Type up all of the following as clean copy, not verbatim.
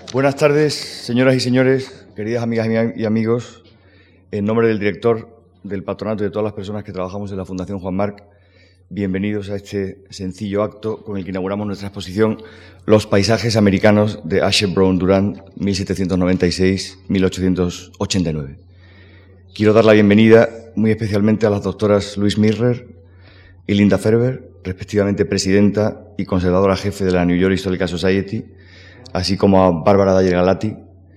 Buenas tardes, señoras y señores, queridas amigas y amigos. En nombre del director, del patronato y de todas las personas que trabajamos en la Fundación Juan Marc, bienvenidos a este sencillo acto con el que inauguramos nuestra exposición Los paisajes americanos de Asher Brown Durant, 1796-1889. Quiero dar la bienvenida muy especialmente a las doctoras Louise Mirrer y Linda Ferber, respectivamente presidenta y conservadora jefe de la New York Historical Society, así como a Bárbara Dyer Galati,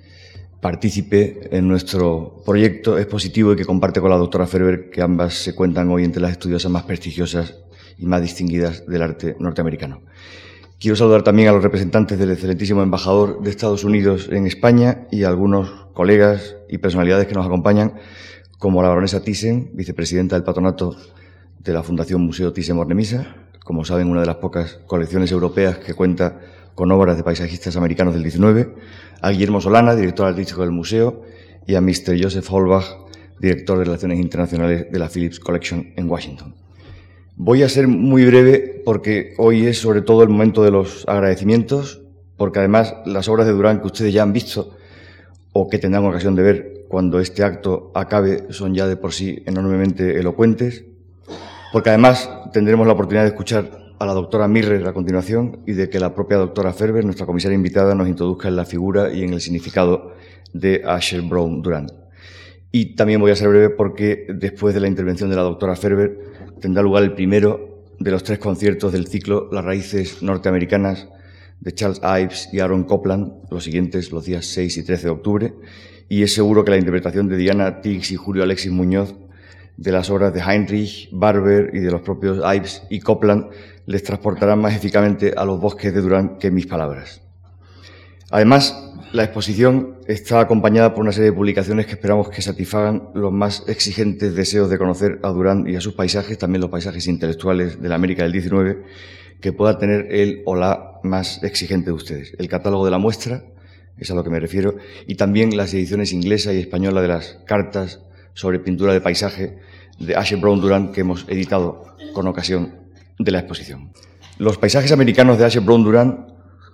partícipe en nuestro proyecto expositivo y que comparte con la doctora Ferber, que ambas se cuentan hoy entre las estudiosas más prestigiosas y más distinguidas del arte norteamericano. Quiero saludar también a los representantes del excelentísimo embajador de Estados Unidos en España y a algunos colegas y personalidades que nos acompañan, como la baronesa Thyssen, vicepresidenta del patronato de la Fundación Museo Thyssen-Bornemisza, como saben, una de las pocas colecciones europeas que cuenta con obras de paisajistas americanos del XIX, a Guillermo Solana, director artístico del museo, y a Mr. Joseph Holbach, director de Relaciones Internacionales de la Phillips Collection en Washington. Voy a ser muy breve porque hoy es sobre todo el momento de los agradecimientos, porque además las obras de Durant que ustedes ya han visto o que tendrán ocasión de ver cuando este acto acabe son ya de por sí enormemente elocuentes, porque además tendremos la oportunidad de escuchar a la doctora Mirrer a continuación y de que la propia doctora Ferber, nuestra comisaria invitada, nos introduzca en la figura y en el significado de Asher Brown Durant. Y también voy a ser breve porque después de la intervención de la doctora Ferber tendrá lugar el primero de los 3 conciertos del ciclo Las raíces norteamericanas de Charles Ives y Aaron Copland, los siguientes, los días 6 y 13 de octubre, y es seguro que la interpretación de Diana Tiggs y Julio Alexis Muñoz de las obras de Heinrich, Barber y de los propios Ives y Copland les transportarán más eficazmente a los bosques de Durant que mis palabras. Además, la exposición está acompañada por una serie de publicaciones que esperamos que satisfagan los más exigentes deseos de conocer a Durant y a sus paisajes, también los paisajes intelectuales de la América del XIX, que pueda tener el o la más exigente de ustedes. El catálogo de la muestra, es a lo que me refiero, y también las ediciones inglesa y española de las cartas sobre pintura de paisaje de Asher Brown Durant que hemos editado con ocasión de la exposición. Los paisajes americanos de Asher Brown Durant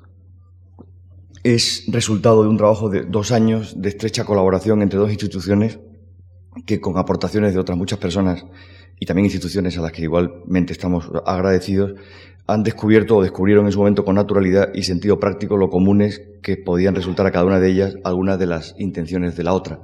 es resultado de un trabajo de 2 años de estrecha colaboración entre 2 instituciones que, con aportaciones de otras muchas personas y también instituciones a las que igualmente estamos agradecidos, han descubierto o descubrieron en su momento con naturalidad y sentido práctico lo comunes que podían resultar a cada una de ellas algunas de las intenciones de la otra.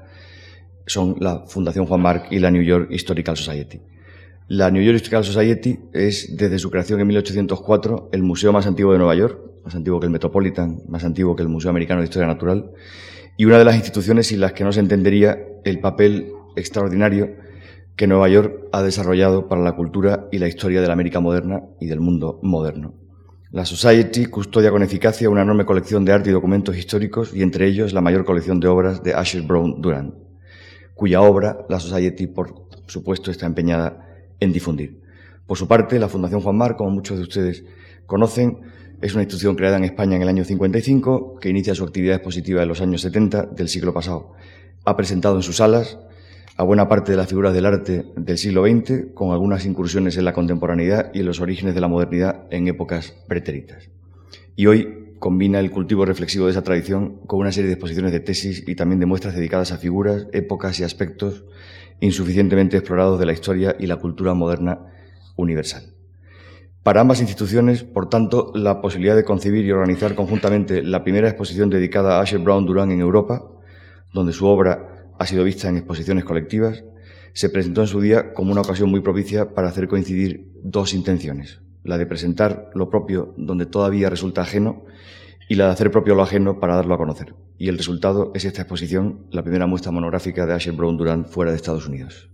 Son la Fundación Juan Marc y la New York Historical Society. La New York Historical Society es, desde su creación en 1804, el museo más antiguo de Nueva York, más antiguo que el Metropolitan, más antiguo que el Museo Americano de Historia Natural, y una de las instituciones sin las que no se entendería el papel extraordinario que Nueva York ha desarrollado para la cultura y la historia de la América moderna y del mundo moderno. La Society custodia con eficacia una enorme colección de arte y documentos históricos, y entre ellos la mayor colección de obras de Asher Brown Durant, cuya obra la Society, por supuesto, está empeñada en difundir. Por su parte, la Fundación Juan Marc, como muchos de ustedes conocen, es una institución creada en España en el año 55, que inicia su actividad expositiva en los años 70 del siglo pasado. Ha presentado en sus salas a buena parte de las figuras del arte del siglo XX, con algunas incursiones en la contemporaneidad y en los orígenes de la modernidad en épocas pretéritas. Y hoy combina el cultivo reflexivo de esa tradición con una serie de exposiciones de tesis y también de muestras dedicadas a figuras, épocas y aspectos insuficientemente explorados de la historia y la cultura moderna universal. Para ambas instituciones, por tanto, la posibilidad de concebir y organizar conjuntamente la primera exposición dedicada a Asher Brown Durant en Europa, donde su obra ha sido vista en exposiciones colectivas, se presentó en su día como una ocasión muy propicia para hacer coincidir 2 intenciones: la de presentar lo propio donde todavía resulta ajeno y la de hacer propio lo ajeno para darlo a conocer. Y el resultado es esta exposición, la primera muestra monográfica de Asher Brown Durant fuera de Estados Unidos.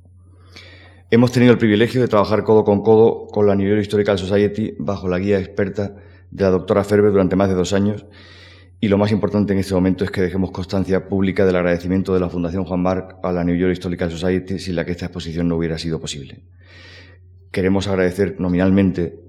Hemos tenido el privilegio de trabajar codo con codo con la New York Historical Society bajo la guía experta de la doctora Ferber durante más de 2 años, y lo más importante en este momento es que dejemos constancia pública del agradecimiento de la Fundación Juan Marc a la New York Historical Society, sin la que esta exposición no hubiera sido posible. Queremos agradecer nominalmente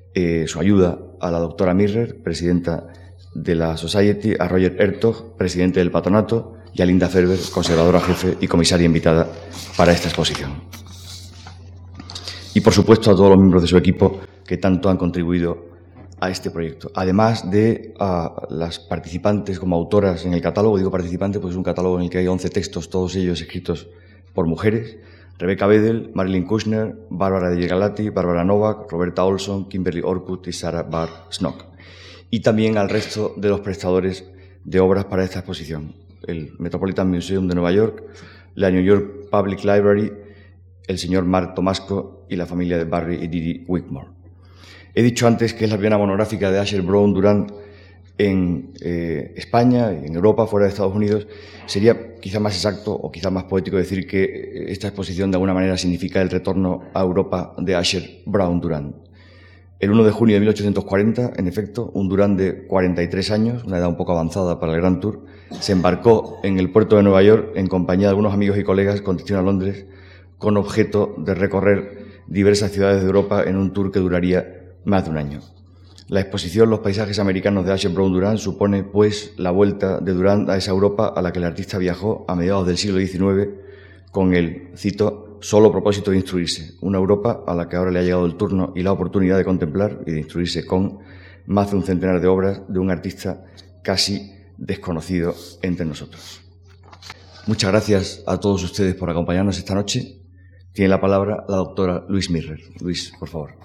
su ayuda a la doctora Mirrer, presidenta de la Society, a Roger Hertog, presidente del patronato, y a Linda Ferber, conservadora jefe y comisaria invitada para esta exposición. Y, por supuesto, a todos los miembros de su equipo que tanto han contribuido a este proyecto. Además de las participantes como autoras en el catálogo, digo participantes porque es un catálogo en el que hay 11 textos, todos ellos escritos por mujeres: Rebecca Bedell, Marilyn Kushner, Bárbara de Galati, Bárbara Novak, Roberta Olson, Kimberly Orkut y Sarah Barr Snook. Y también al resto de los prestadores de obras para esta exposición: el Metropolitan Museum de Nueva York, la New York Public Library, el señor Mark Tomasco y la familia de Barry y Didi Wigmore. He dicho antes que es la primera monográfica de Asher Brown Durant en España, en Europa, fuera de Estados Unidos. Sería quizá más exacto o quizá más poético decir que esta exposición de alguna manera significa el retorno a Europa de Asher Brown Durant. El 1 de junio de 1840, en efecto, un Durant de 43 años, una edad un poco avanzada para el Grand Tour, se embarcó en el puerto de Nueva York en compañía de algunos amigos y colegas con destino a Londres, con objeto de recorrer diversas ciudades de Europa en un tour que duraría más de un año. La exposición Los paisajes americanos de Asher Brown Durant supone, pues, la vuelta de Durant a esa Europa a la que el artista viajó a mediados del siglo XIX con el, cito, solo propósito de instruirse, una Europa a la que ahora le ha llegado el turno y la oportunidad de contemplar y de instruirse con más de un centenar de obras de un artista casi desconocido entre nosotros. Muchas gracias a todos ustedes por acompañarnos esta noche. Tiene la palabra la doctora Louise Mirrer. Louise, por favor.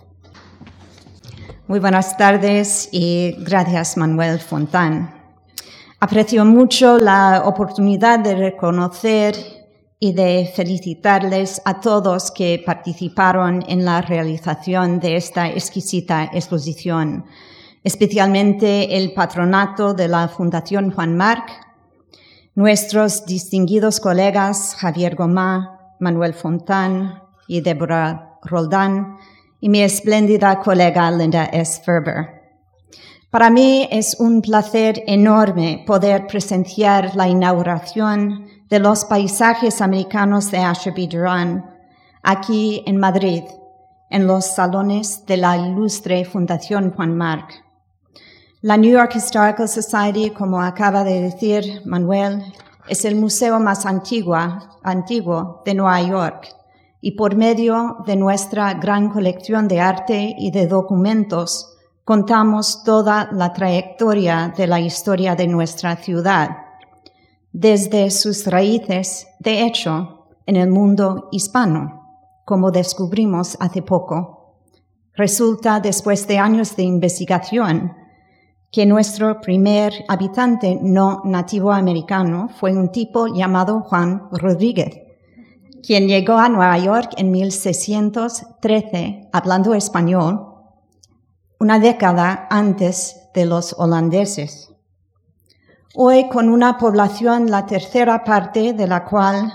Muy buenas tardes y gracias, Manuel Fontán. Aprecio mucho la oportunidad de reconocer y de felicitarles a todos que participaron en la realización de esta exquisita exposición, especialmente el patronato de la Fundación Juan March, nuestros distinguidos colegas Javier Gomá, Manuel Fontán y Débora Roldán, y mi espléndida colega Linda S. Ferber. Para mí es un placer enorme poder presenciar la inauguración de los paisajes americanos de Asher B. Durant aquí en Madrid, en los salones de la ilustre Fundación Juan March. La New York Historical Society, como acaba de decir Manuel, es el museo más antiguo de Nueva York, y por medio de nuestra gran colección de arte y de documentos contamos toda la trayectoria de la historia de nuestra ciudad, desde sus raíces, de hecho, en el mundo hispano, como descubrimos hace poco. Resulta, después de años de investigación, que nuestro primer habitante no nativo americano fue un tipo llamado Juan Rodríguez, quien llegó a Nueva York en 1613 hablando español, una década antes de los holandeses. Hoy, con una población la tercera parte de la cual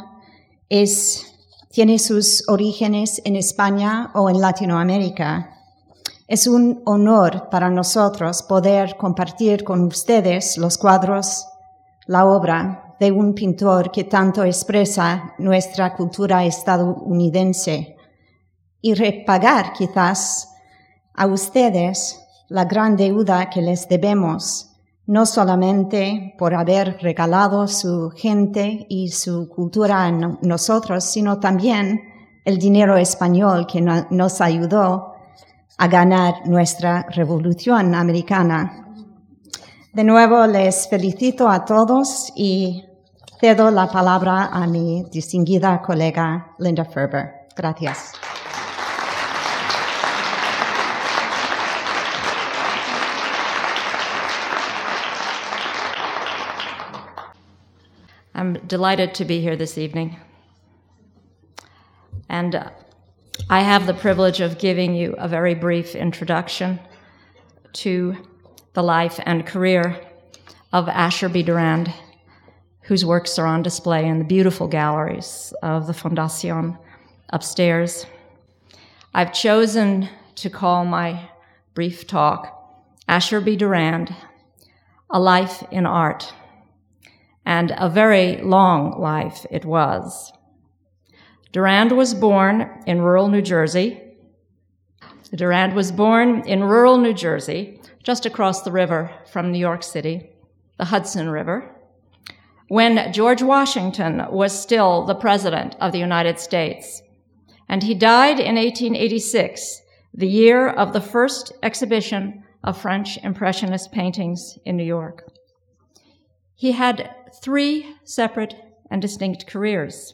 tiene sus orígenes en España o en Latinoamérica, es un honor para nosotros poder compartir con ustedes los cuadros, la obra de un pintor que tanto expresa nuestra cultura estadounidense y repagar quizás a ustedes la gran deuda que les debemos, no solamente por haber regalado su gente y su cultura a nosotros, sino también el dinero español que nos ayudó a ganar nuestra revolución americana. De nuevo, les felicito a todos y cedo la palabra a mi distinguida colega Linda Ferber. Gracias. I'm delighted to be here this evening. And I have the privilege of giving you a very brief introduction to the life and career of Asher B. Durant, whose works are on display in the beautiful galleries of the Fundación upstairs. I've chosen to call my brief talk Asher B. Durant, A Life in Art, and a very long life it was. Durant was born in rural New Jersey. Durant was born in rural New Jersey, just across the river from New York City, the Hudson River, when George Washington was still the President of the United States. And he died in 1886, the year of the first exhibition of French Impressionist paintings in New York. He had 3 separate and distinct careers.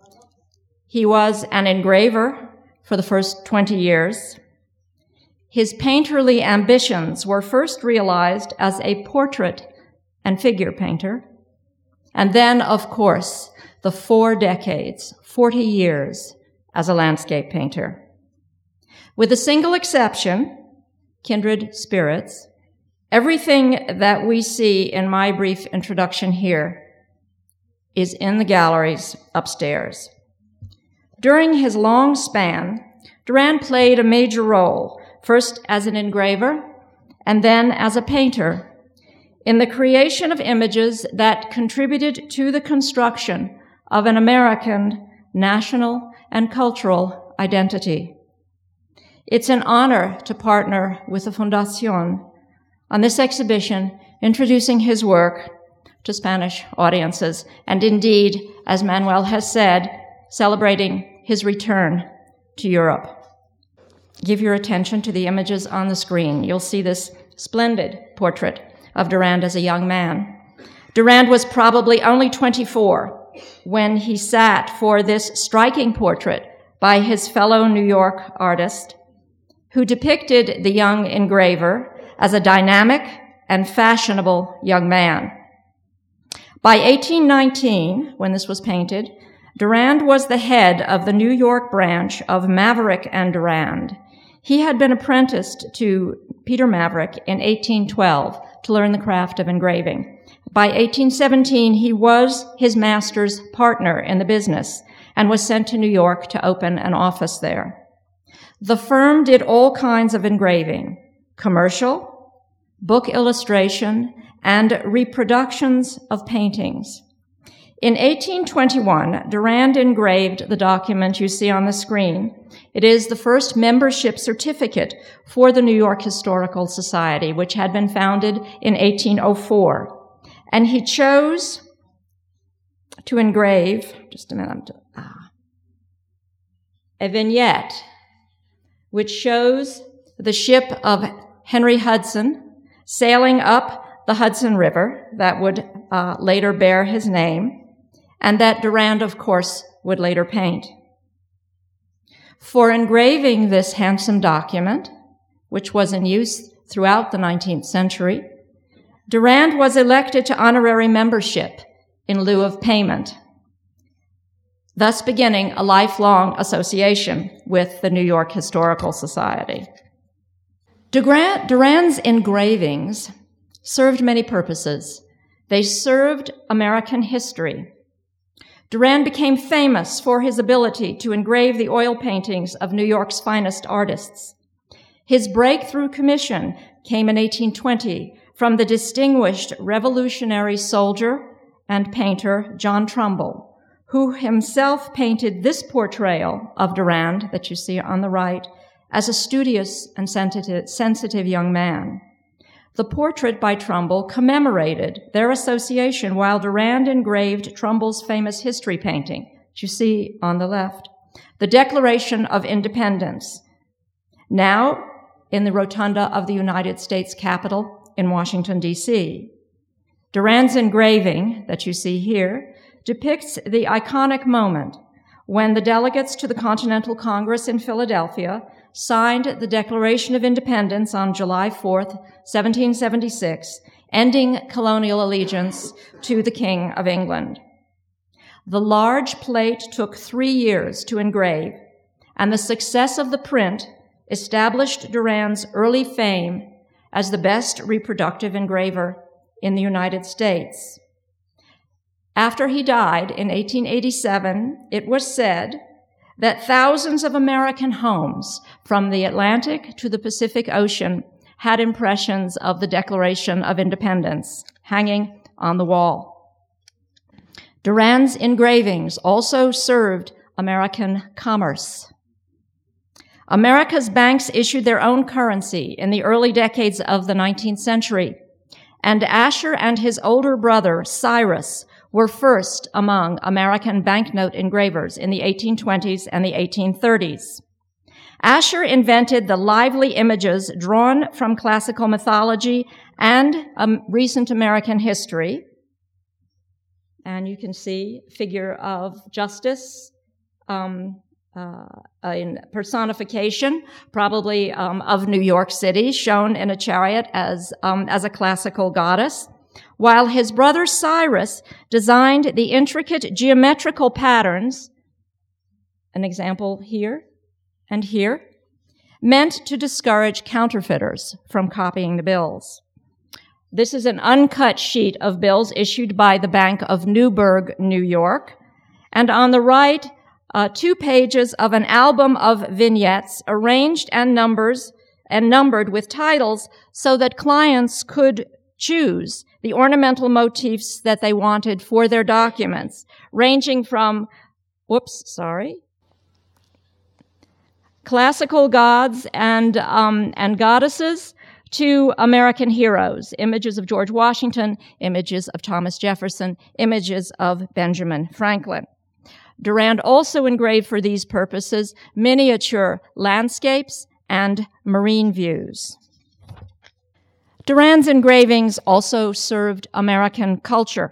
He was an engraver for the first 20 years. His painterly ambitions were first realized as a portrait and figure painter, and then, of course, the 4 decades, 40 years, as a landscape painter. With a single exception, kindred spirits, everything that we see in my brief introduction here is in the galleries upstairs. During his long span, Durand played a major role, first as an engraver and then as a painter, in the creation of images that contributed to the construction of an American national and cultural identity. It's an honor to partner with the Fundación on this exhibition, introducing his work to Spanish audiences, and indeed, as Manuel has said, celebrating his return to Europe. Give your attention to the images on the screen. You'll see this splendid portrait of Durand as a young man. Durand was probably only 24 when he sat for this striking portrait by his fellow New York artist, who depicted the young engraver as a dynamic and fashionable young man. By 1819, when this was painted, Durand was the head of the New York branch of Maverick and Durand. He had been apprenticed to Peter Maverick in 1812 to learn the craft of engraving. By 1817, he was his master's partner in the business and was sent to New York to open an office there. The firm did all kinds of engraving, commercial, book illustration, and reproductions of paintings. In 1821, Durand engraved the document you see on the screen. It is the first membership certificate for the New York Historical Society, which had been founded in 1804. And he chose to engrave, a vignette which shows the ship of Henry Hudson sailing up the Hudson River that would later bear his name, and that Durand, of course, would later paint. For engraving this handsome document, which was in use throughout the 19th century, Durand was elected to honorary membership in lieu of payment, thus beginning a lifelong association with the New York Historical Society. Durand's engravings served many purposes. They served American history. Durand became famous for his ability to engrave the oil paintings of New York's finest artists. His breakthrough commission came in 1820 from the distinguished Revolutionary soldier and painter John Trumbull, who himself painted this portrayal of Durand that you see on the right as a studious and sensitive young man. The portrait by Trumbull commemorated their association while Durand engraved Trumbull's famous history painting, which you see on the left, the Declaration of Independence, now in the rotunda of the United States Capitol in Washington, D.C. Durand's engraving that you see here depicts the iconic moment when the delegates to the Continental Congress in Philadelphia signed the Declaration of Independence on July 4th, 1776, ending colonial allegiance to the King of England. The large plate took 3 years to engrave, and the success of the print established Durand's early fame as the best reproductive engraver in the United States. After he died in 1887, it was said that thousands of American homes from the Atlantic to the Pacific Ocean had impressions of the Declaration of Independence hanging on the wall. Durand's engravings also served American commerce. America's banks issued their own currency in the early decades of the 19th century, and Asher and his older brother, Cyrus, were first among American banknote engravers in the 1820s and the 1830s. Asher invented the lively images drawn from classical mythology and recent American history. And you can see a figure of justice in personification, probably of New York City, shown in a chariot as a classical goddess, while his brother Cyrus designed the intricate geometrical patterns, an example here and here, meant to discourage counterfeiters from copying the bills. This is an uncut sheet of bills issued by the Bank of Newburgh, New York, and on the right, 2 pages of an album of vignettes arranged and numbered with titles so that clients could choose the ornamental motifs that they wanted for their documents, ranging from, classical gods and goddesses to American heroes, images of George Washington, images of Thomas Jefferson, images of Benjamin Franklin. Durand also engraved for these purposes miniature landscapes and marine views. Durand's engravings also served American culture.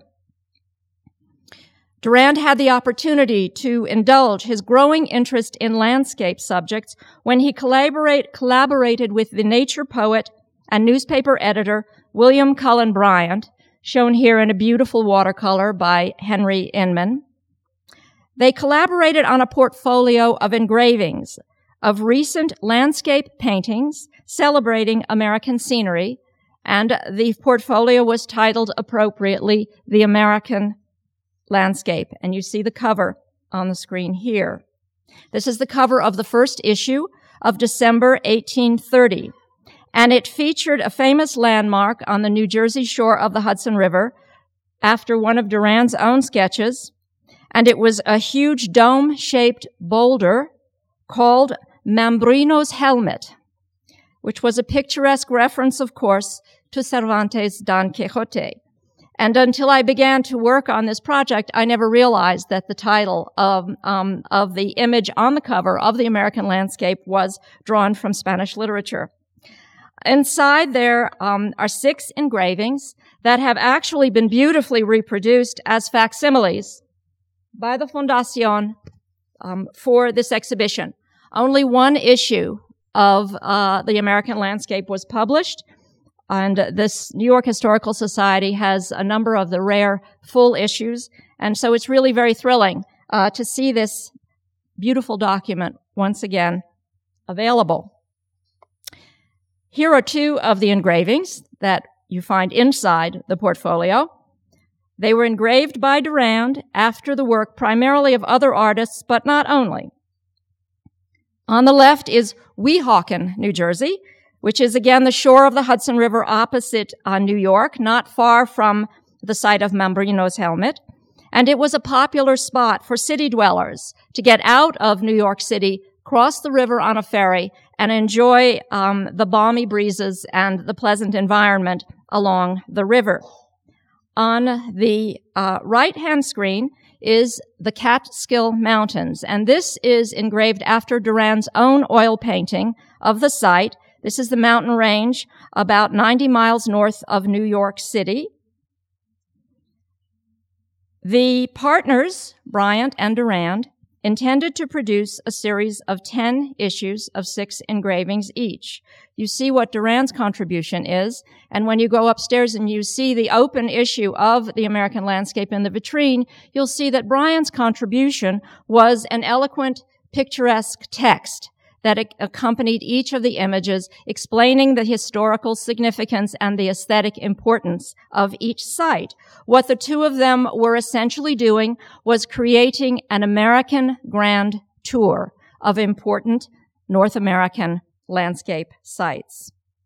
Durand had the opportunity to indulge his growing interest in landscape subjects when he collaborated with the nature poet and newspaper editor William Cullen Bryant, shown here in a beautiful watercolor by Henry Inman. They collaborated on a portfolio of engravings of recent landscape paintings celebrating American scenery, and the portfolio was titled appropriately The American Landscape, and you see the cover on the screen here. This is the cover of the first issue of December 1830, and it featured a famous landmark on the New Jersey shore of the Hudson River after one of Durand's own sketches, and it was a huge dome-shaped boulder called Mambrino's Helmet, which was a picturesque reference, of course, to Cervantes' Don Quixote. And until I began to work on this project, I never realized that the title of the image on the cover of The American Landscape was drawn from Spanish literature. Inside there are 6 engravings that have actually been beautifully reproduced as facsimiles by the Fundación for this exhibition. Only one issue of The American Landscape was published, and this New York Historical Society has a number of the rare full issues, and so it's really very thrilling to see this beautiful document once again available. Here are 2 of the engravings that you find inside the portfolio. They were engraved by Durand after the work primarily of other artists, but not only. On the left is Weehawken, New Jersey, which is again the shore of the Hudson River opposite New York, not far from the site of Mambrino's Helmet. And it was a popular spot for city dwellers to get out of New York City, cross the river on a ferry, and enjoy the balmy breezes and the pleasant environment along the river. On the right-hand screen is the Catskill Mountains, and this is engraved after Durand's own oil painting of the site. This is the mountain range about 90 miles north of New York City. The partners, Bryant and Durand, intended to produce a series of 10 issues of 6 engravings each. You see what Durand's contribution is, and when you go upstairs and you see the open issue of The American Landscape in the vitrine, you'll see that Bryant's contribution was an eloquent, picturesque text that accompanied each of the images, explaining the historical significance and the aesthetic importance of each site. What the 2 of them were essentially doing was creating an American grand tour of important North American landscape sites.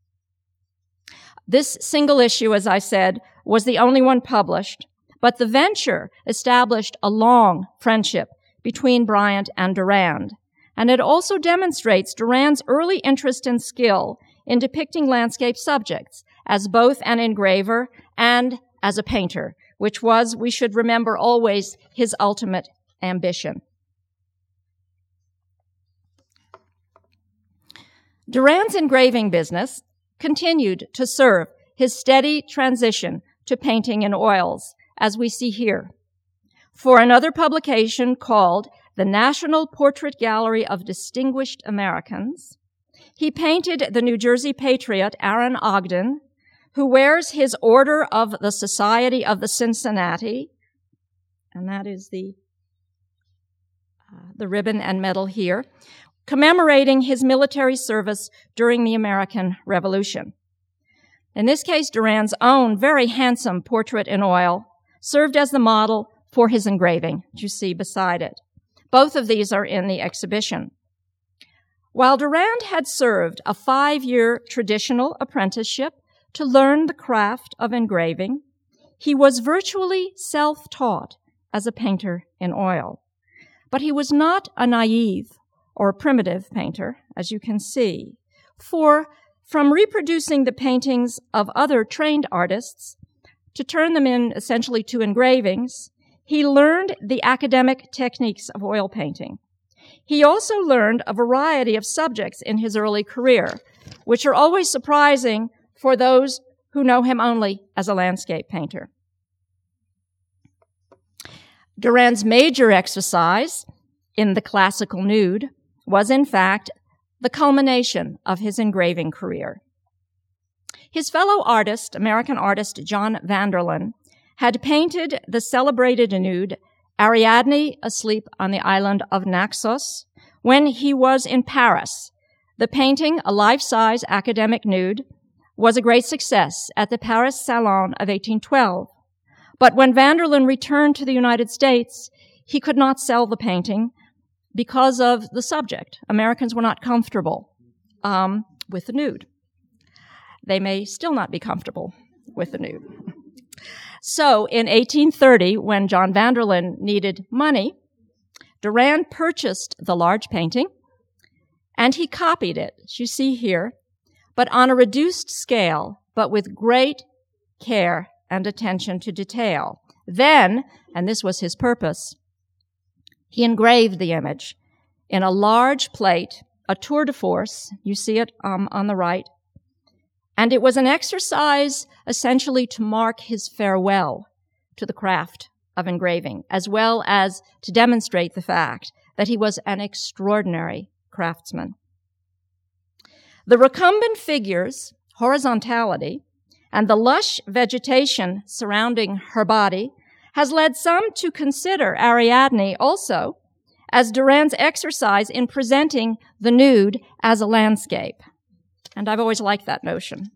This single issue, as I said, was the only one published, but the venture established a long friendship between Bryant and Durand. And it also demonstrates Durand's early interest and skill in depicting landscape subjects as both an engraver and as a painter, which was, we should remember always, his ultimate ambition. Durand's engraving business continued to serve his steady transition to painting in oils, as we see here. For another publication called the National Portrait Gallery of Distinguished Americans, he painted the New Jersey patriot Aaron Ogden, who wears his Order of the Society of the Cincinnati, and that is the ribbon and medal here, commemorating his military service during the American Revolution. In this case, Durand's own very handsome portrait in oil served as the model for his engraving, that you see beside it. Both of these are in the exhibition. While Durand had served a 5-year traditional apprenticeship to learn the craft of engraving, he was virtually self-taught as a painter in oil. But he was not a naive or primitive painter, as you can see, for from reproducing the paintings of other trained artists to turn them in essentially to engravings, he learned the academic techniques of oil painting. He also learned a variety of subjects in his early career, which are always surprising for those who know him only as a landscape painter. Durand's major exercise in the classical nude was, in fact, the culmination of his engraving career. His fellow artist, American artist John Vanderlyn, had painted the celebrated nude Ariadne asleep on the island of Naxos when he was in Paris. The painting, a life-size academic nude, was a great success at the Paris Salon of 1812. But when Vanderlyn returned to the United States, he could not sell the painting because of the subject. Americans were not comfortable with the nude. They may still not be comfortable with the nude. So in 1830, when John Vanderlyn needed money, Durand purchased the large painting, and he copied it, as you see here, but on a reduced scale, but with great care and attention to detail. Then, and this was his purpose, he engraved the image in a large plate, a tour de force, you see it on the right, and it was an exercise essentially to mark his farewell to the craft of engraving, as well as to demonstrate the fact that he was an extraordinary craftsman. The recumbent figures, horizontality, and the lush vegetation surrounding her body has led some to consider Ariadne also as Durand's exercise in presenting the nude as a landscape. And I've always liked that notion.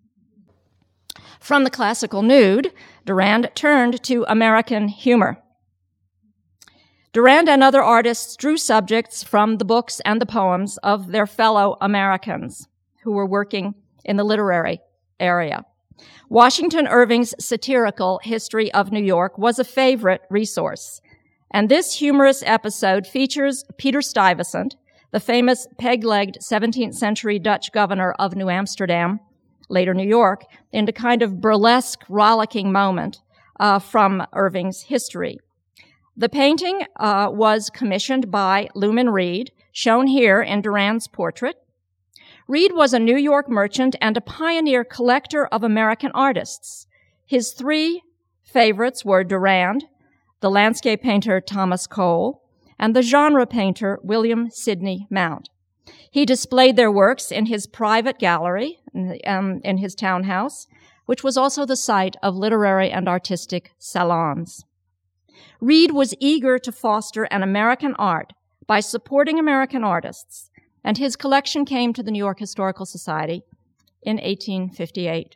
From the classical nude, Durand turned to American humor. Durand and other artists drew subjects from the books and the poems of their fellow Americans who were working in the literary area. Washington Irving's satirical History of New York was a favorite resource, and this humorous episode features Peter Stuyvesant, the famous peg-legged 17th century Dutch governor of New Amsterdam, later New York, in a kind of burlesque, rollicking moment from Irving's history. The painting was commissioned by Luman Reed, shown here in Durand's portrait. Reed was a New York merchant and a pioneer collector of American artists. His three favorites were Durand, the landscape painter Thomas Cole, and the genre painter William Sidney Mount. He displayed their works in his private gallery in his townhouse, which was also the site of literary and artistic salons. Reed was eager to foster an American art by supporting American artists, and his collection came to the New York Historical Society in 1858.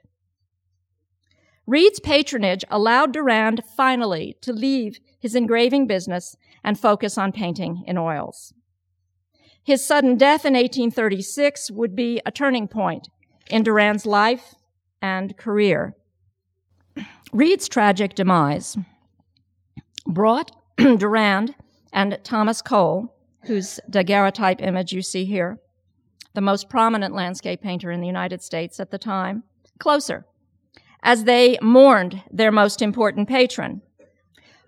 Reed's patronage allowed Durand finally to leave his engraving business and focus on painting in oils. His sudden death in 1836 would be a turning point in Durand's life and career. Reed's tragic demise brought Durand and Thomas Cole, whose daguerreotype image you see here, the most prominent landscape painter in the United States at the time, closer, as they mourned their most important patron.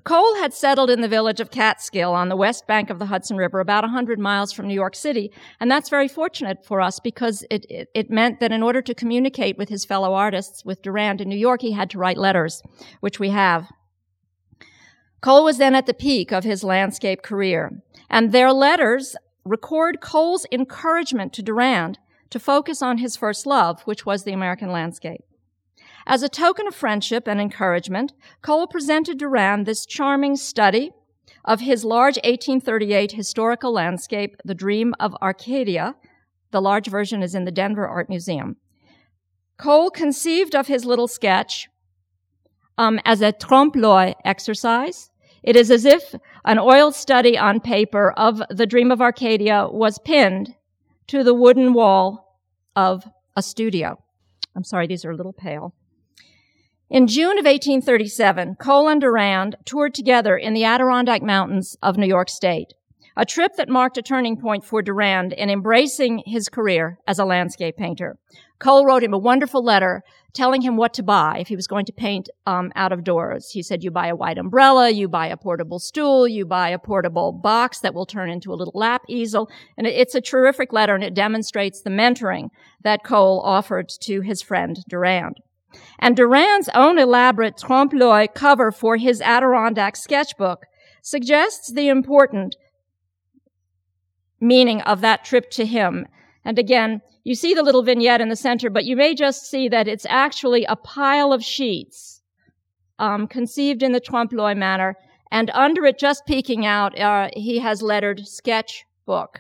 Cole had settled in the village of Catskill on the west bank of the Hudson River, about 100 miles from New York City. And that's very fortunate for us because it meant that in order to communicate with his fellow artists, with Durand in New York, he had to write letters, which we have. Cole was then at the peak of his landscape career, and their letters record Cole's encouragement to Durand to focus on his first love, which was the American landscape. As a token of friendship and encouragement, Cole presented Durand this charming study of his large 1838 historical landscape, The Dream of Arcadia. The large version is in the Denver Art Museum. Cole conceived of his little sketch as a trompe-l'oeil exercise. It is as if an oil study on paper of The Dream of Arcadia was pinned to the wooden wall of a studio. I'm sorry, these are a little pale. In June of 1837, Cole and Durand toured together in the Adirondack Mountains of New York State, a trip that marked a turning point for Durand in embracing his career as a landscape painter. Cole wrote him a wonderful letter telling him what to buy if he was going to paint out of doors. He said, you buy a white umbrella, you buy a portable stool, you buy a portable box that will turn into a little lap easel. And it's a terrific letter, and it demonstrates the mentoring that Cole offered to his friend Durand. And Durand's own elaborate trompe-l'oeil cover for his Adirondack sketchbook suggests the important meaning of that trip to him. And again, you see the little vignette in the center, but you may just see that it's actually a pile of sheets conceived in the trompe-l'oeil manner, and under it, just peeking out, he has lettered sketchbook.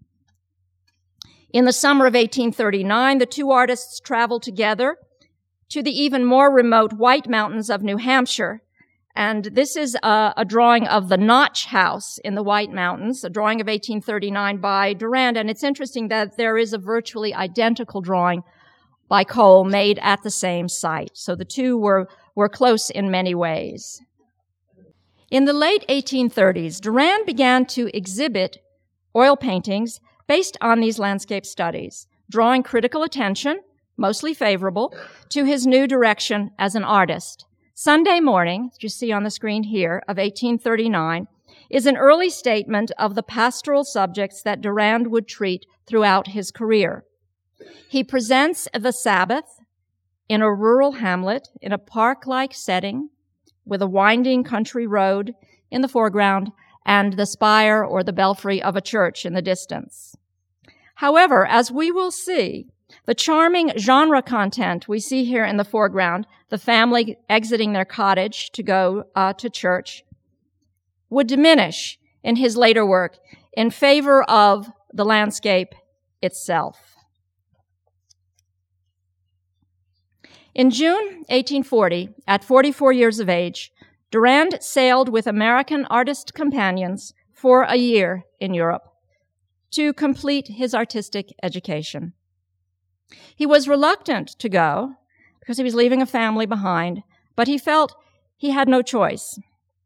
In the summer of 1839, the two artists traveled together to the even more remote White Mountains of New Hampshire. And this is a drawing of the Notch House in the White Mountains, a drawing of 1839 by Durand. And it's interesting that there is a virtually identical drawing by Cole made at the same site. So the two were close in many ways. In the late 1830s, Durand began to exhibit oil paintings based on these landscape studies, drawing critical attention, mostly favorable, to his new direction as an artist. Sunday Morning, that you see on the screen here, of 1839, is an early statement of the pastoral subjects that Durand would treat throughout his career. He presents the Sabbath in a rural hamlet in a park-like setting with a winding country road in the foreground and the spire or the belfry of a church in the distance. However, as we will see, the charming genre content we see here in the foreground, the family exiting their cottage to go to church, would diminish in his later work in favor of the landscape itself. In June 1840, at 44 years of age, Durand sailed with American artist companions for a year in Europe to complete his artistic education. He was reluctant to go because he was leaving a family behind, but he felt he had no choice.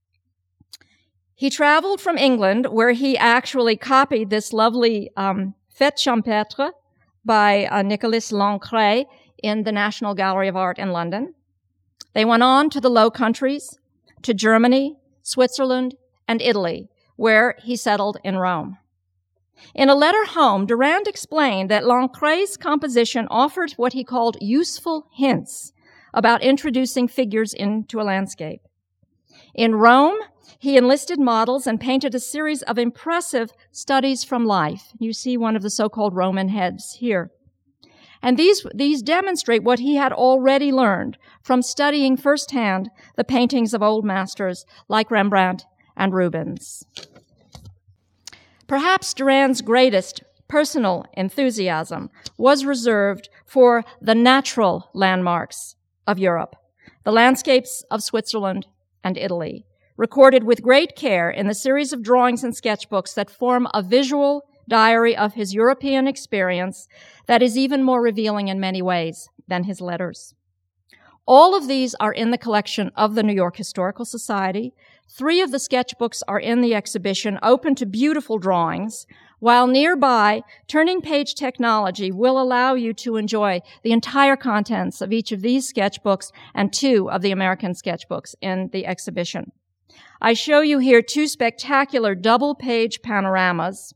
He traveled from England, where he actually copied this lovely Fête Champêtre by Nicolas Lancret in the National Gallery of Art in London. They went on to the Low Countries, to Germany, Switzerland, and Italy, where he settled in Rome. In a letter home, Durand explained that Lancret's composition offered what he called useful hints about introducing figures into a landscape. In Rome, he enlisted models and painted a series of impressive studies from life. You see one of the so-called Roman heads here. And these demonstrate what he had already learned from studying firsthand the paintings of old masters like Rembrandt and Rubens. Perhaps Durand's greatest personal enthusiasm was reserved for the natural landmarks of Europe, the landscapes of Switzerland and Italy, recorded with great care in the series of drawings and sketchbooks that form a visual diary of his European experience that is even more revealing in many ways than his letters. All of these are in the collection of the New York Historical Society. 3 of the sketchbooks are in the exhibition, open to beautiful drawings, while nearby, turning page technology will allow you to enjoy the entire contents of each of these sketchbooks and 2 of the American sketchbooks in the exhibition. I show you here two spectacular double-page panoramas.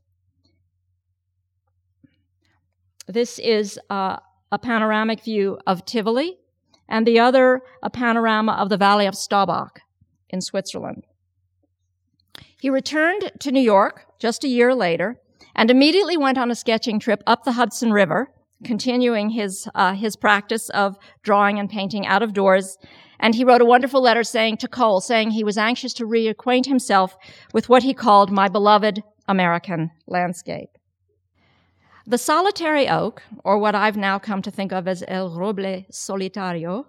This is a panoramic view of Tivoli, and the other a panorama of the Valley of Staubach in Switzerland. He returned to New York just a year later and immediately went on a sketching trip up the Hudson River, continuing his practice of drawing and painting out of doors. And he wrote a wonderful letter to Cole, saying he was anxious to reacquaint himself with what he called my beloved American landscape. The solitary oak, or what I've now come to think of as El Roble Solitario,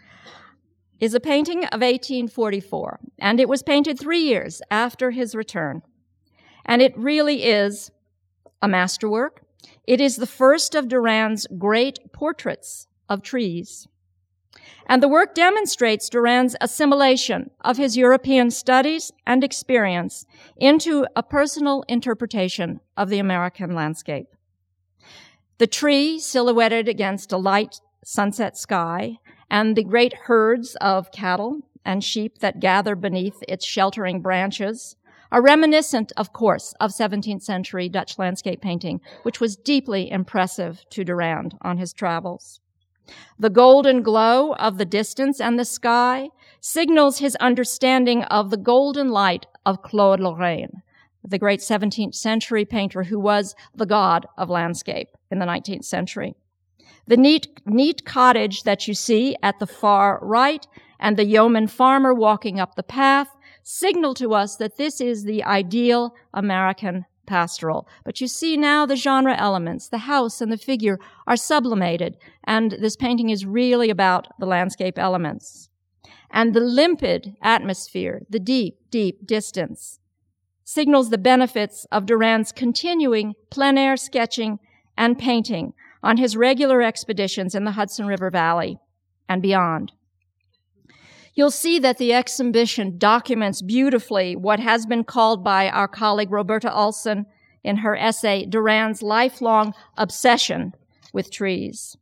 is a painting of 1844, and it was painted 3 years after his return. And it really is a masterwork. It is the first of Durand's great portraits of trees. And the work demonstrates Durand's assimilation of his European studies and experience into a personal interpretation of the American landscape. The tree silhouetted against a light sunset sky and the great herds of cattle and sheep that gather beneath its sheltering branches are reminiscent, of course, of 17th century Dutch landscape painting, which was deeply impressive to Durand on his travels. The golden glow of the distance and the sky signals his understanding of the golden light of Claude Lorraine, the great 17th century painter who was the god of landscape in the 19th century. The neat cottage that you see at the far right and the yeoman farmer walking up the path signal to us that this is the ideal American pastoral. But you see now the genre elements, the house and the figure are sublimated, and this painting is really about the landscape elements. And the limpid atmosphere, the deep, deep distance, signals the benefits of Durand's continuing plein air sketching and painting on his regular expeditions in the Hudson River Valley and beyond. You'll see that the exhibition documents beautifully what has been called by our colleague Roberta Olson in her essay, Durand's lifelong obsession with trees.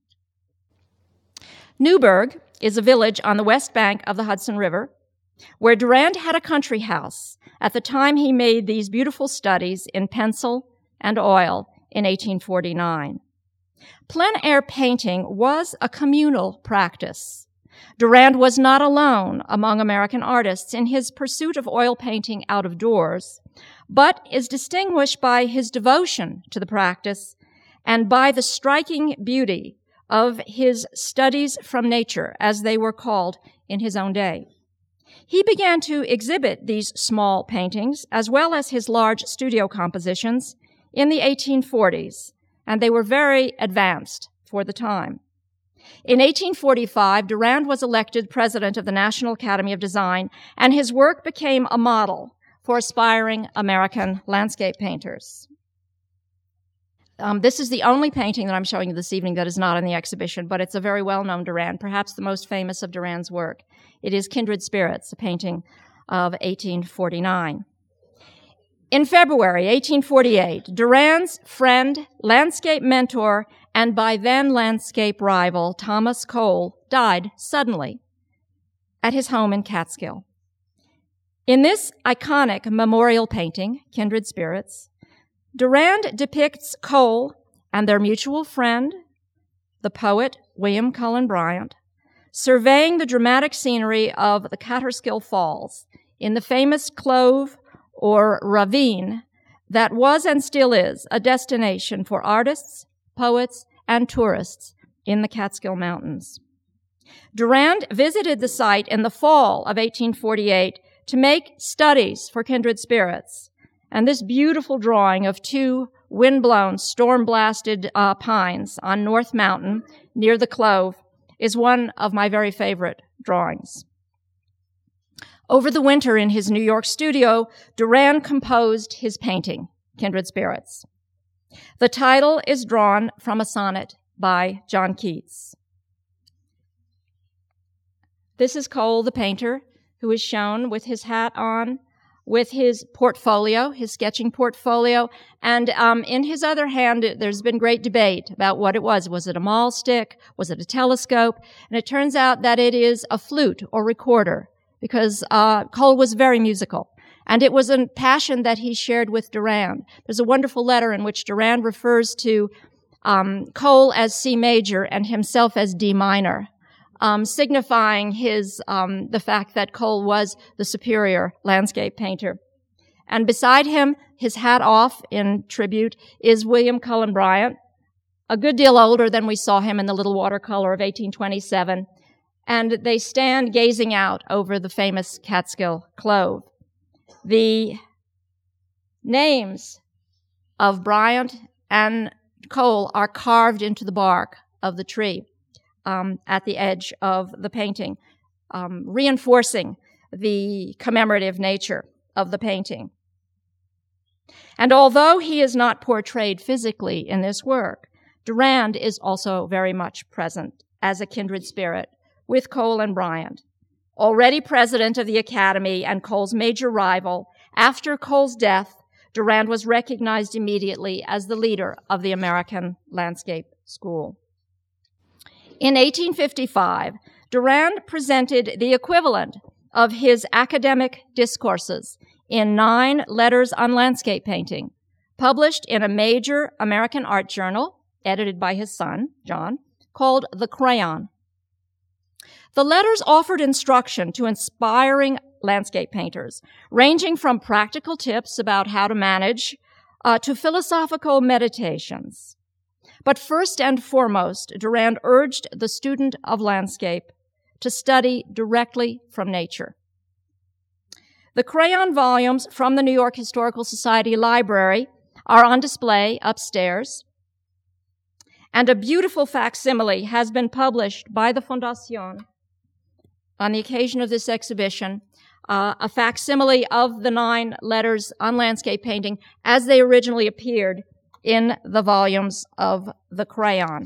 Newburgh is a village on the west bank of the Hudson River where Durand had a country house at the time he made these beautiful studies in pencil and oil in 1849. Plein air painting was a communal practice. Durand was not alone among American artists in his pursuit of oil painting out of doors, but is distinguished by his devotion to the practice and by the striking beauty of his studies from nature, as they were called in his own day. He began to exhibit these small paintings, as well as his large studio compositions, in the 1840s, and they were very advanced for the time. In 1845, Durand was elected president of the National Academy of Design, and his work became a model for aspiring American landscape painters. This is the only painting that I'm showing you this evening that is not in the exhibition, but it's a very well-known Durand, perhaps the most famous of Durand's work. It is Kindred Spirits, a painting of 1849. In February 1848, Durand's friend, landscape mentor, and by then landscape rival, Thomas Cole, died suddenly at his home in Catskill. In this iconic memorial painting, Kindred Spirits, Durand depicts Cole and their mutual friend, the poet William Cullen Bryant, surveying the dramatic scenery of the Catskill Falls in the famous clove or ravine that was and still is a destination for artists, poets, and tourists in the Catskill Mountains. Durand visited the site in the fall of 1848 to make studies for Kindred Spirits, and this beautiful drawing of two wind-blown, storm-blasted pines on North Mountain near the Clove is one of my very favorite drawings. Over the winter in his New York studio, Durand composed his painting, Kindred Spirits. The title is drawn from a sonnet by John Keats. This is Cole, the painter, who is shown with his hat on, with his portfolio, his sketching portfolio, and in his other hand, there's been great debate about what it was. Was it a mahl stick? Was it a telescope? And it turns out that it is a flute or recorder, because Cole was very musical. And it was a passion that he shared with Durand. There's a wonderful letter in which Durand refers to Cole as C major and himself as D minor, signifying the fact that Cole was the superior landscape painter. And beside him, his hat off in tribute, is William Cullen Bryant, a good deal older than we saw him in the little watercolor of 1827. And they stand gazing out over the famous Catskill Clove. The names of Bryant and Cole are carved into the bark of the tree at the edge of the painting, reinforcing the commemorative nature of the painting. And although he is not portrayed physically in this work, Durand is also very much present as a kindred spirit with Cole and Bryant. Already president of the Academy and Cole's major rival, after Cole's death, Durand was recognized immediately as the leader of the American Landscape School. In 1855, Durand presented the equivalent of his academic discourses in 9 letters on landscape painting, published in a major American art journal, edited by his son, John, called The Crayon. The letters offered instruction to inspiring landscape painters, ranging from practical tips about how to manage to philosophical meditations. But first and foremost, Durand urged the student of landscape to study directly from nature. The crayon volumes from the New York Historical Society Library are on display upstairs, and a beautiful facsimile has been published by the Fondation on the occasion of this exhibition, a facsimile of the 9 letters on landscape painting as they originally appeared in the volumes of the Crayon.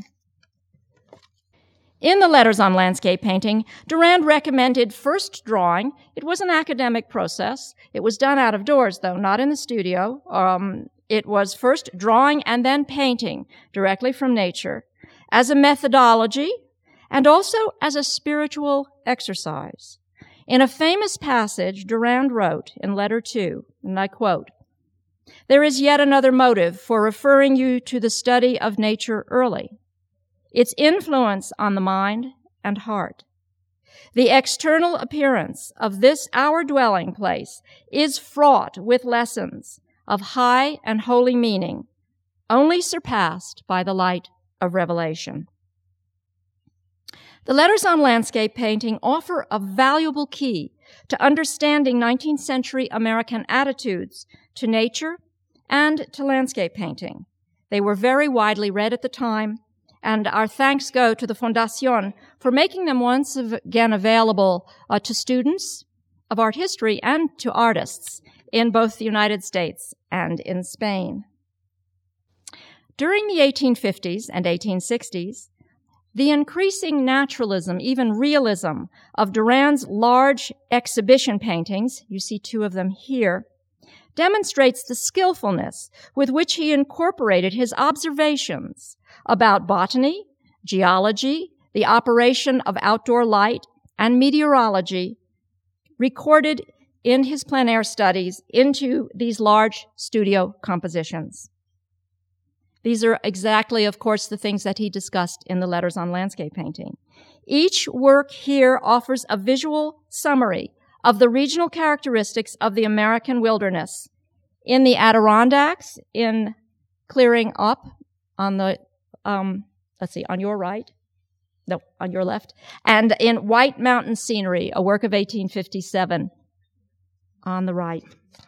In the letters on landscape painting, Durand recommended first drawing. It was an academic process. It was done out of doors, though, not in the studio. It was first drawing and then painting directly from nature as a methodology and also as a spiritual exercise. In a famous passage, Durand wrote in letter 2, and I quote, "There is yet another motive for referring you to the study of nature early, its influence on the mind and heart. The external appearance of this our dwelling place is fraught with lessons of high and holy meaning, only surpassed by the light of revelation." The letters on landscape painting offer a valuable key to understanding 19th century American attitudes to nature and to landscape painting. They were very widely read at the time, and our thanks go to the Fondation for making them once again available to students of art history and to artists in both the United States and in Spain. During the 1850s and 1860s, the increasing naturalism, even realism, of Durand's large exhibition paintings, you see 2 of them here, demonstrates the skillfulness with which he incorporated his observations about botany, geology, the operation of outdoor light, and meteorology, recorded in his plein air studies into these large studio compositions. These are exactly, of course, the things that he discussed in the letters on landscape painting. Each work here offers a visual summary of the regional characteristics of the American wilderness. In the Adirondacks, in Clearing Up on the, on your right, no, on your left, and in White Mountain Scenery, a work of 1857, on the right.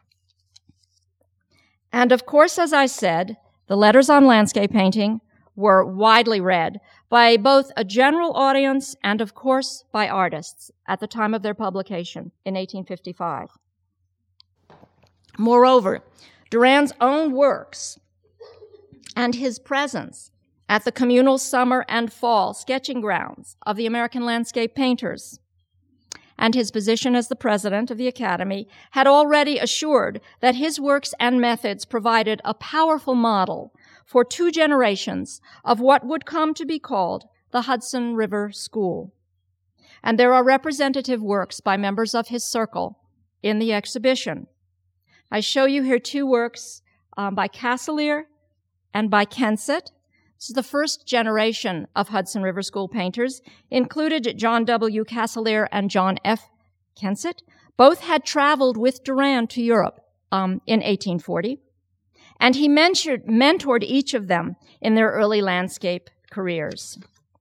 And of course, as I said, the letters on landscape painting were widely read by both a general audience and, of course, by artists at the time of their publication in 1855. Moreover, Durand's own works and his presence at the communal summer and fall sketching grounds of the American landscape painters and his position as the president of the Academy had already assured that his works and methods provided a powerful model for 2 generations of what would come to be called the Hudson River School. And there are representative works by members of his circle in the exhibition. I show you here two works by Casalier and by Kensett. This is the first generation of Hudson River School painters, included John W. Casalier and John F. Kensett. Both had traveled with Durand to Europe in 1840, and he mentored each of them in their early landscape careers.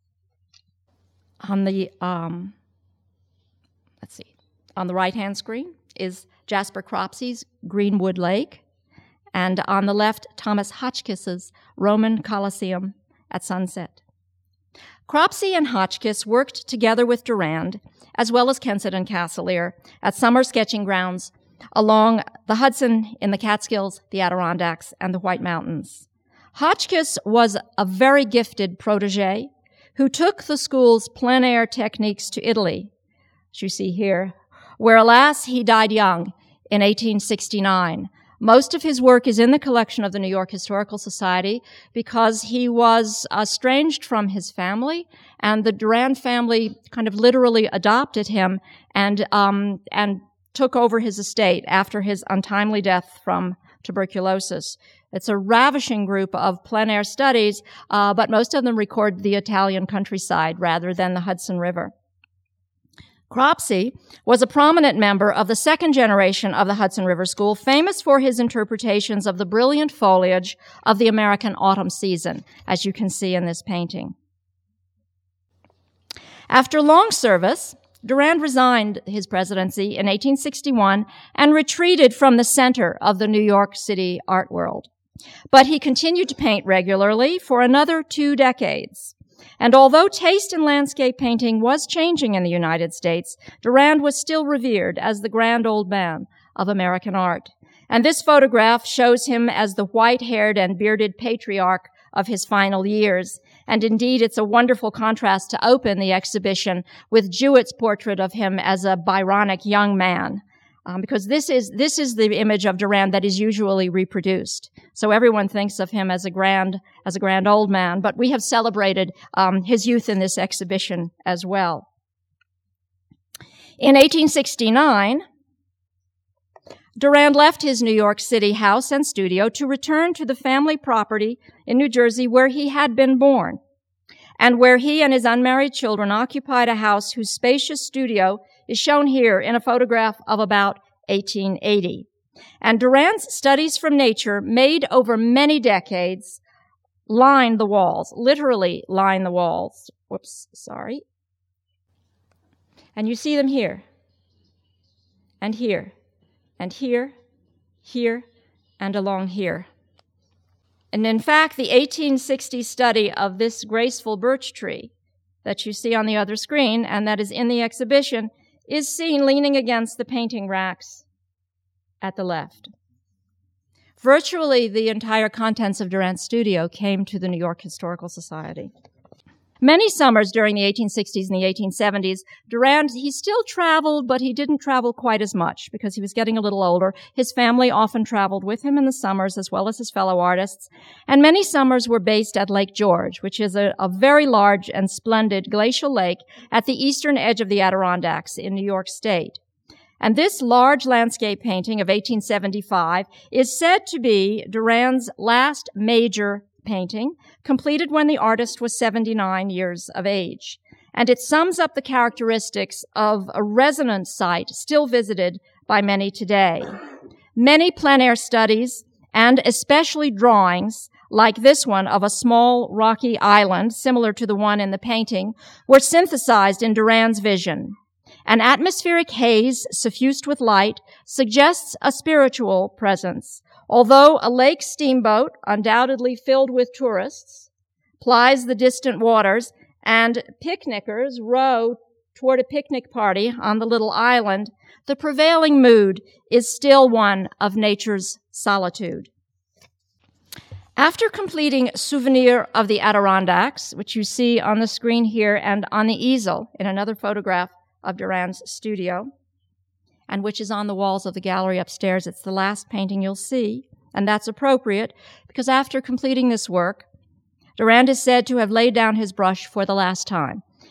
On the on the right-hand screen is Jasper Cropsey's Greenwood Lake, and on the left, Thomas Hotchkiss's Roman Colosseum at sunset. Cropsey and Hotchkiss worked together with Durand, as well as Kensett and Casalier, at summer sketching grounds along the Hudson in the Catskills, the Adirondacks, and the White Mountains. Hotchkiss was a very gifted protege who took the school's plein air techniques to Italy, as you see here, where, alas, he died young in 1869. Most of his work is in the collection of the New York Historical Society because he was estranged from his family, and the Durand family kind of literally adopted him and took over his estate after his untimely death from tuberculosis. It's a ravishing group of plein air studies, but most of them record the Italian countryside rather than the Hudson River. Cropsey was a prominent member of the second generation of the Hudson River School, famous for his interpretations of the brilliant foliage of the American autumn season, as you can see in this painting. After long service, Durand resigned his presidency in 1861 and retreated from the center of the New York City art world. But he continued to paint regularly for another 2 decades. And although taste in landscape painting was changing in the United States, Durand was still revered as the grand old man of American art. And this photograph shows him as the white-haired and bearded patriarch of his final years. And indeed, it's a wonderful contrast to open the exhibition with Jewett's portrait of him as a Byronic young man. Because this is the image of Durand that is usually reproduced. So everyone thinks of him as a grand old man, but we have celebrated his youth in this exhibition as well. In 1869, Durand left his New York City house and studio to return to the family property in New Jersey where he had been born, and where he and his unmarried children occupied a house whose spacious studio is shown here in a photograph of about 1880. And Durand's studies from nature, made over many decades, line the walls, literally line the walls. Whoops, sorry. And you see them here, and here, and here, here, and along here. And in fact, the 1860 study of this graceful birch tree that you see on the other screen, and that is in the exhibition, is seen leaning against the painting racks at the left. Virtually the entire contents of Durand's studio came to the New York Historical Society. Many summers during the 1860s and the 1870s, Durand, he still traveled, but he didn't travel quite as much because he was getting a little older. His family often traveled with him in the summers as well as his fellow artists. And many summers were based at Lake George, which is a very large and splendid glacial lake at the eastern edge of the Adirondacks in New York State. And this large landscape painting of 1875 is said to be Durand's last major painting, completed when the artist was 79 years of age. And it sums up the characteristics of a resonance site still visited by many today. Many plein air studies, and especially drawings, like this one of a small rocky island, similar to the one in the painting, were synthesized in Durand's vision. An atmospheric haze suffused with light suggests a spiritual presence, although a lake steamboat, undoubtedly filled with tourists, plies the distant waters, and picnickers row toward a picnic party on the little island, the prevailing mood is still one of nature's solitude. After completing Souvenir of the Adirondacks, which you see on the screen here and on the easel in another photograph of Durand's studio, and which is on the walls of the gallery upstairs. It's the last painting you'll see, and that's appropriate because after completing this work, Durand is said to have laid down his brush for the last time.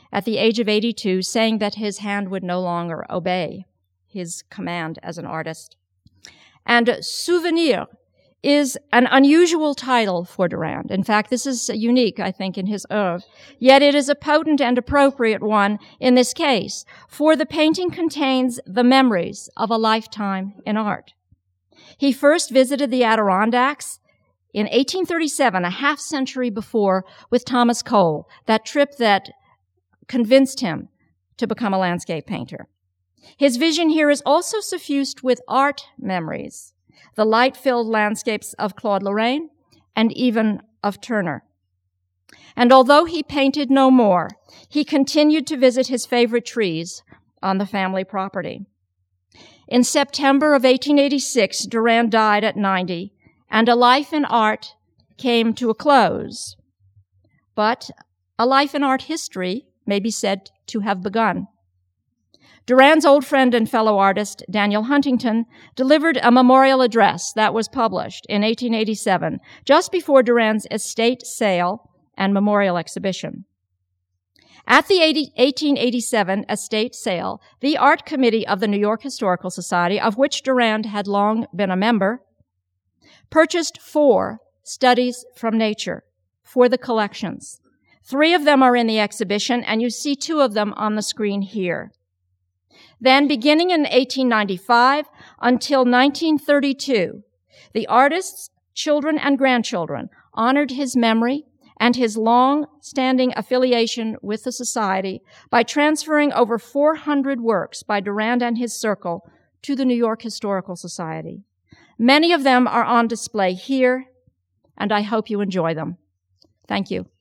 at the age of 82, saying that his hand would no longer obey his command as an artist. And Souvenir is an unusual title for Durand. In fact, this is unique, I think, in his oeuvre. Yet it is a potent and appropriate one in this case, for the painting contains the memories of a lifetime in art. He first visited the Adirondacks in 1837, a half century before, with Thomas Cole, that trip that convinced him to become a landscape painter. His vision here is also suffused with art memories, the light-filled landscapes of Claude Lorraine and even of Turner. And although he painted no more, he continued to visit his favorite trees on the family property. In September of 1886, Durand died at 90, and a life in art came to a close. But a life in art history may be said to have begun. Durand's old friend and fellow artist, Daniel Huntington, delivered a memorial address that was published in 1887, just before Durand's estate sale and memorial exhibition. At the 1887 estate sale, the art committee of the New York Historical Society, of which Durand had long been a member, purchased 4 studies from nature for the collections. 3 of them are in the exhibition, and you see 2 of them on the screen here. Then, beginning in 1895 until 1932, the artist's children and grandchildren honored his memory and his long-standing affiliation with the Society by transferring over 400 works by Durand and his circle to the New York Historical Society. Many of them are on display here, and I hope you enjoy them. Thank you.